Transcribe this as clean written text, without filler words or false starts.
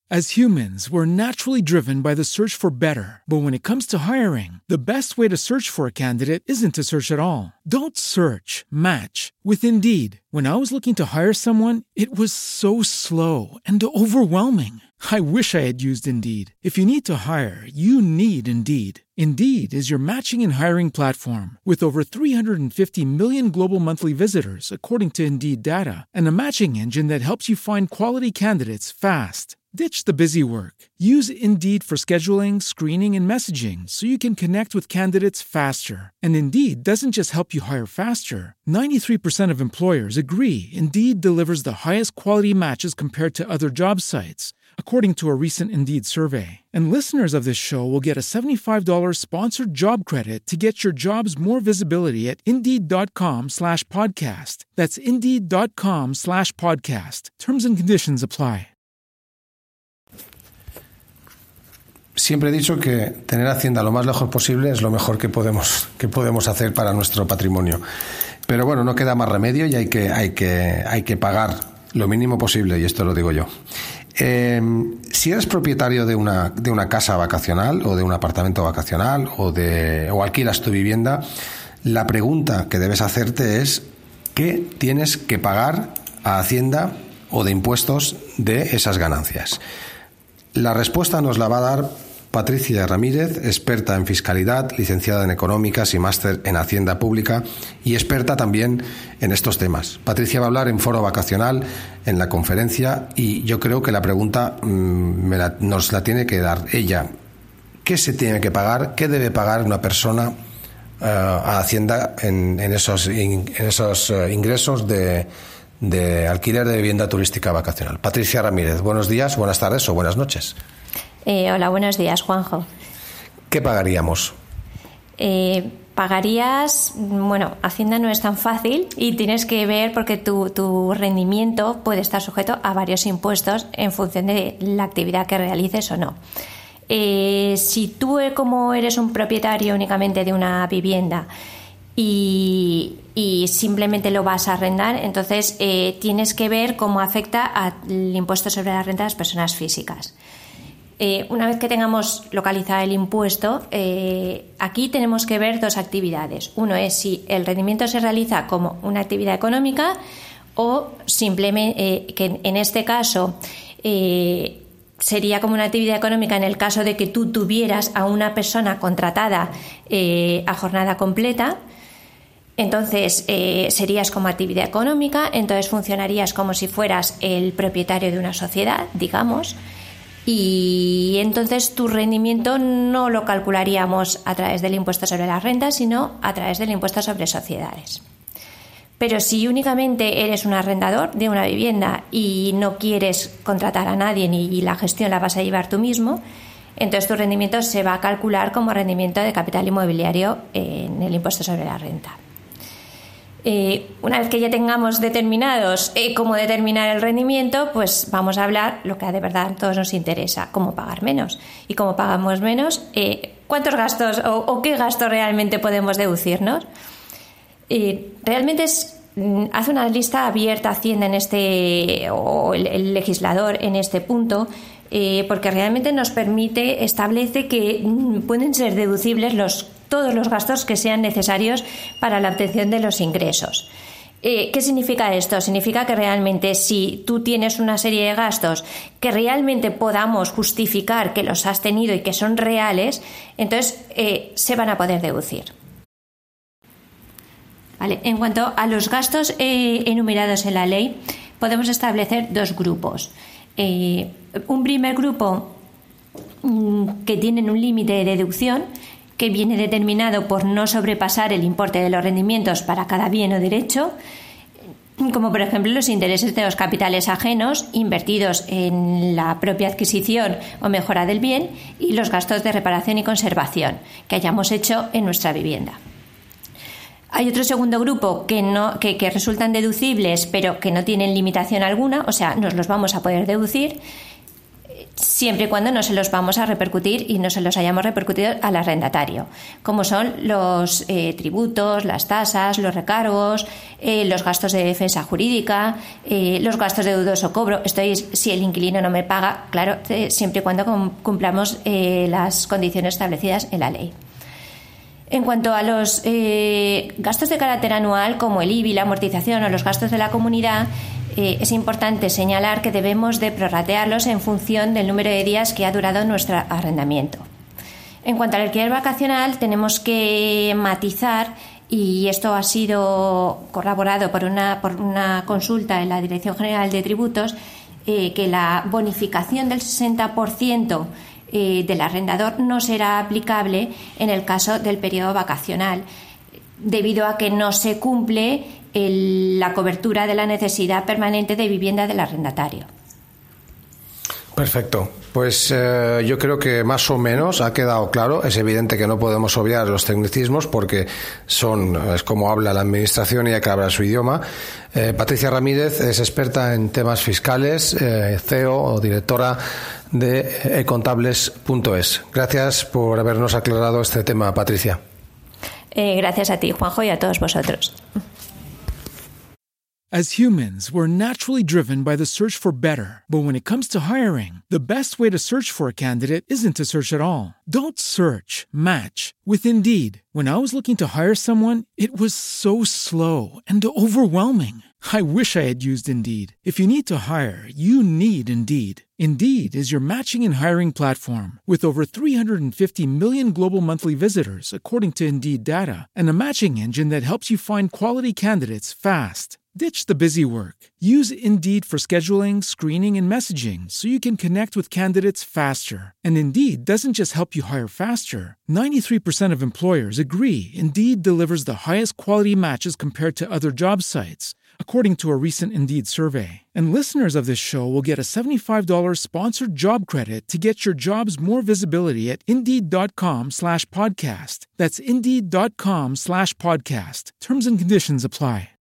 As humans, we're naturally driven by the search for better. But when it comes to hiring, the best way to search for a candidate isn't to search at all. Don't search, match with Indeed. When I was looking to hire someone, it was so slow and overwhelming. I wish I had used Indeed. If you need to hire, you need Indeed. Indeed is your matching and hiring platform with over 350 million global monthly visitors, according to Indeed data, and a matching engine that helps you find quality candidates fast. Ditch the busy work. Use Indeed for scheduling, screening, and messaging so you can connect with candidates faster. And Indeed doesn't just help you hire faster. 93% of employers agree Indeed delivers the highest quality matches compared to other job sites, according to a recent Indeed survey. And listeners of this show will get a $75 sponsored job credit to get your jobs more visibility at Indeed.com/podcast. That's Indeed.com/podcast. Terms and conditions apply. Siempre he dicho que tener Hacienda lo más lejos posible es lo mejor que podemos hacer para nuestro patrimonio. Pero bueno, no queda más remedio y hay que pagar lo mínimo posible, y esto lo digo yo. Si eres propietario de una casa vacacional o de un apartamento vacacional o alquilas tu vivienda, la pregunta que debes hacerte es ¿qué tienes que pagar a Hacienda o de impuestos de esas ganancias? La respuesta nos la va a dar Patricia Ramírez, experta en fiscalidad, licenciada en económicas y máster en Hacienda Pública y experta también en estos temas. Patricia va a hablar en Foro Vacacional, en la conferencia, y yo creo que la pregunta nos la tiene que dar ella. ¿Qué se tiene que pagar? ¿Qué debe pagar una persona a Hacienda en esos ingresos de alquiler de vivienda turística vacacional? Patricia Ramírez, buenos días, buenas tardes o buenas noches. Hola, buenos días, Juanjo. ¿Qué pagaríamos? Pagarías, Hacienda no es tan fácil y tienes que ver porque tu rendimiento puede estar sujeto a varios impuestos en función de la actividad que realices o no. Si tú, como eres un propietario únicamente de una vivienda y simplemente lo vas a arrendar, entonces tienes que ver cómo afecta al impuesto sobre la renta de las personas físicas. Una vez que tengamos localizado el impuesto, aquí tenemos que ver dos actividades. Uno es si el rendimiento se realiza como una actividad económica o simplemente, que en este caso sería como una actividad económica en el caso de que tú tuvieras a una persona contratada a jornada completa. Entonces serías como actividad económica, entonces funcionarías como si fueras el propietario de una sociedad, digamos. Y entonces tu rendimiento no lo calcularíamos a través del impuesto sobre la renta, sino a través del impuesto sobre sociedades. Pero si únicamente eres un arrendador de una vivienda y no quieres contratar a nadie y la gestión la vas a llevar tú mismo, entonces tu rendimiento se va a calcular como rendimiento de capital inmobiliario en el impuesto sobre la renta. Una vez que ya tengamos determinados cómo determinar el rendimiento, pues vamos a hablar lo que de verdad a todos nos interesa, cómo pagar menos. Y cómo pagamos menos, cuántos gastos o qué gastos realmente podemos deducirnos. Realmente hace una lista abierta Hacienda o el legislador en este punto, porque realmente nos establece que pueden ser deducibles todos los gastos que sean necesarios para la obtención de los ingresos. ¿Qué significa esto? Significa que realmente si tú tienes una serie de gastos que realmente podamos justificar que los has tenido y que son reales, entonces se van a poder deducir. Vale. En cuanto a los gastos enumerados en la ley, podemos establecer dos grupos. Un primer grupo que tienen un límite de deducción que viene determinado por no sobrepasar el importe de los rendimientos para cada bien o derecho, como por ejemplo los intereses de los capitales ajenos invertidos en la propia adquisición o mejora del bien y los gastos de reparación y conservación que hayamos hecho en nuestra vivienda. Hay otro segundo grupo que resultan deducibles pero que no tienen limitación alguna, o sea, nos los vamos a poder deducir. siempre y cuando no se los vamos a repercutir y no se los hayamos repercutido al arrendatario, como son los tributos, las tasas, los recargos, los gastos de defensa jurídica, los gastos de dudoso cobro. Esto es si el inquilino no me paga, claro, siempre y cuando cumplamos las condiciones establecidas en la ley. En cuanto a los gastos de carácter anual, como el IBI, la amortización o los gastos de la comunidad, es importante señalar que debemos de prorratearlos en función del número de días que ha durado nuestro arrendamiento. En cuanto al alquiler vacacional, tenemos que matizar, y esto ha sido corroborado por una consulta en la Dirección General de Tributos, que la bonificación del 60% del arrendador no será aplicable en el caso del periodo vacacional, debido a que no se cumple la cobertura de la necesidad permanente de vivienda del arrendatario. Perfecto. Pues yo creo que más o menos ha quedado claro. Es evidente que no podemos obviar los tecnicismos porque es como habla la administración y hay que hablar su idioma. Patricia Ramírez es experta en temas fiscales, CEO o directora de econtables.es. Gracias por habernos aclarado este tema, Patricia. Gracias a ti, Juanjo, y a todos vosotros. As humans, we're naturally driven by the search for better. But when it comes to hiring, the best way to search for a candidate isn't to search at all. Don't search, match with Indeed. When I was looking to hire someone, it was so slow and overwhelming. I wish I had used Indeed. If you need to hire, you need Indeed. Indeed is your matching and hiring platform with over 350 million global monthly visitors, according to Indeed data, and a matching engine that helps you find quality candidates fast. Ditch the busy work. Use Indeed for scheduling, screening, and messaging so you can connect with candidates faster. And Indeed doesn't just help you hire faster. 93% of employers agree Indeed delivers the highest quality matches compared to other job sites, according to a recent Indeed survey. And listeners of this show will get a $75 sponsored job credit to get your jobs more visibility at Indeed.com/podcast. That's Indeed.com/podcast. Terms and conditions apply.